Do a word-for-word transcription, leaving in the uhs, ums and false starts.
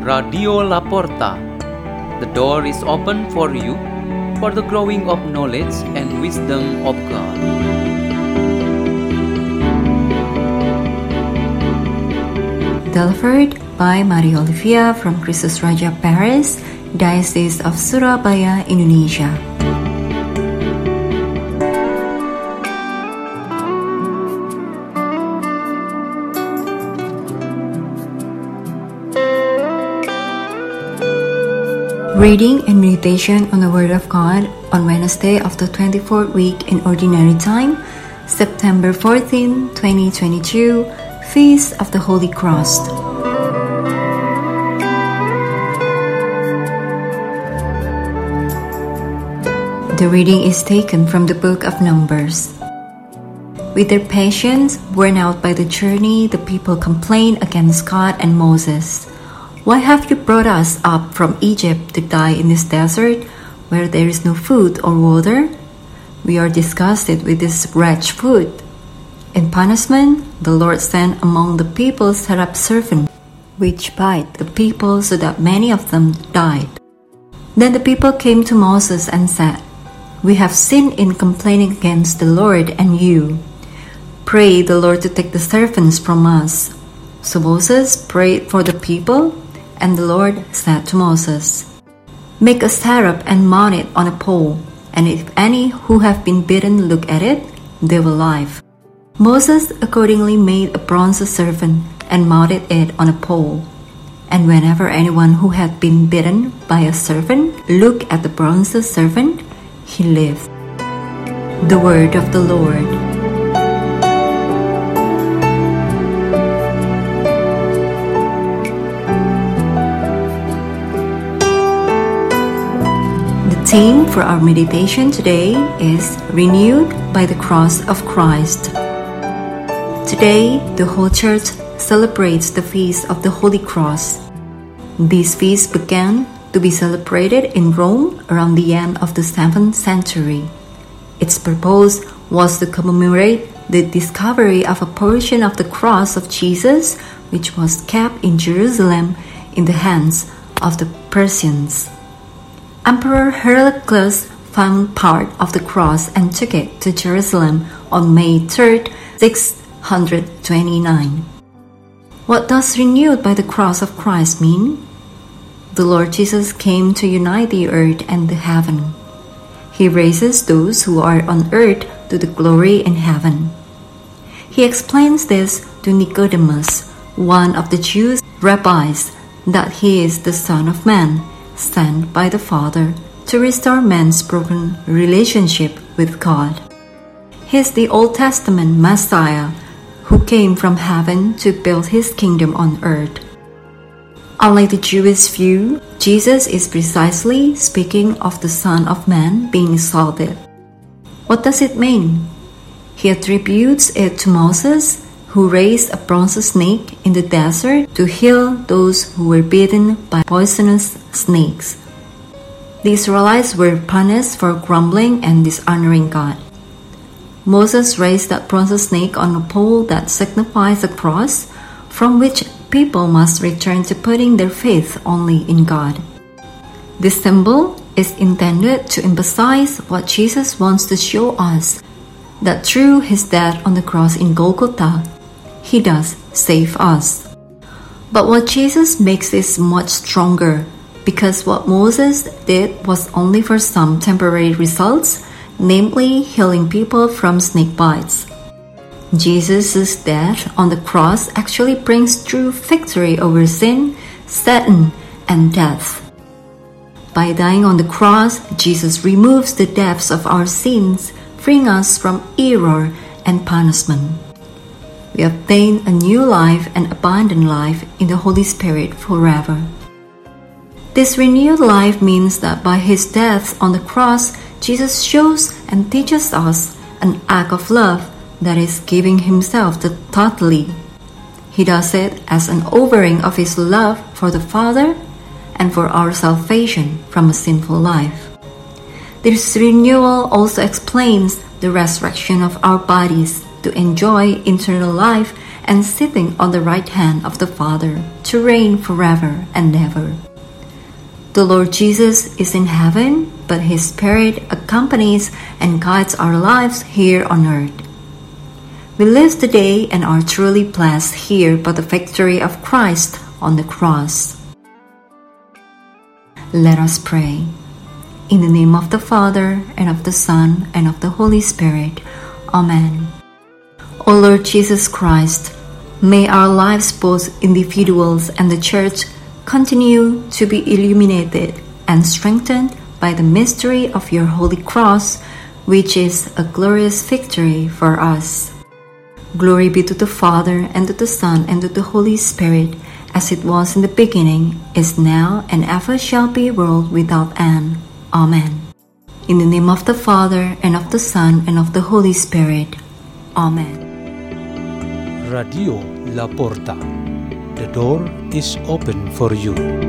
Radio La Porta. The door is open for you for the growing of knowledge and wisdom of God. Delivered by Maria Olivia from Kristus Raja Paris, Diocese of Surabaya, Indonesia. Reading and meditation on the Word of God on Wednesday of the twenty-fourth week in Ordinary Time, September fourteenth, twenty twenty-two, Feast of the Holy Cross. The reading is taken from the book of Numbers. With their patience worn out by the journey, the people complained against God and Moses. "Why have you brought us up from Egypt to die in this desert, where there is no food or water? We are disgusted with this wretched food." In punishment, the Lord sent among the people seraph serpents, which bite the people so that many of them died. Then the people came to Moses and said, "We have sinned in complaining against the Lord and you. Pray the Lord to take the serpents from us." So Moses prayed for the people, and the Lord said to Moses, "Make a seraph and mount it on a pole, and if any who have been bitten look at it, they will live." Moses accordingly made a bronze serpent and mounted it on a pole. And whenever anyone who had been bitten by a serpent looked at the bronze serpent, he lived. The word of the Lord. The theme for our meditation today is Renewed by the Cross of Christ. Today, the whole church celebrates the Feast of the Holy Cross. This feast began to be celebrated in Rome around the end of the seventh century. Its purpose was to commemorate the discovery of a portion of the cross of Jesus, which was kept in Jerusalem in the hands of the Persians. Emperor Heraclius found part of the cross and took it to Jerusalem on May third, six hundred twenty-nine. What does renewed by the cross of Christ mean? The Lord Jesus came to unite the earth and the heaven. He raises those who are on earth to the glory in heaven. He explains this to Nicodemus, one of the Jews' rabbis, that he is the Son of Man, sent by the Father to restore man's broken relationship with God. He is the Old Testament Messiah who came from heaven to build his kingdom on earth. Unlike the Jewish view, Jesus is precisely speaking of the Son of Man being exalted. What does it mean? He attributes it to Moses, who raised a bronze snake in the desert to heal those who were bitten by poisonous snakes. The Israelites were punished for grumbling and dishonoring God. Moses raised that bronze snake on a pole that signifies a cross, from which people must return to putting their faith only in God. This symbol is intended to emphasize what Jesus wants to show us, that through his death on the cross in Golgotha, he does save us. But what Jesus makes is much stronger, because what Moses did was only for some temporary results, namely healing people from snake bites. Jesus' death on the cross actually brings true victory over sin, Satan, and death. By dying on the cross, Jesus removes the depths of our sins, freeing us from error and punishment. We obtain a new life and abundant life in the Holy Spirit forever. This renewed life means that by his death on the cross, Jesus shows and teaches us an act of love, that is, giving himself totally. He does it as an offering of his love for the Father and for our salvation from a sinful life. This renewal also explains the resurrection of our bodies to enjoy eternal life and sitting on the right hand of the Father, to reign forever and ever. The Lord Jesus is in heaven, but His Spirit accompanies and guides our lives here on earth. We live today and are truly blessed here by the victory of Christ on the cross. Let us pray. In the name of the Father, and of the Son, and of the Holy Spirit. Amen. O Lord Jesus Christ, may our lives, both individuals and the Church, continue to be illuminated and strengthened by the mystery of your Holy Cross, which is a glorious victory for us. Glory be to the Father, and to the Son, and to the Holy Spirit, as it was in the beginning, is now, and ever shall be, world without end. Amen. In the name of the Father, and of the Son, and of the Holy Spirit. Amen. Radio La Porta. The door is open for you.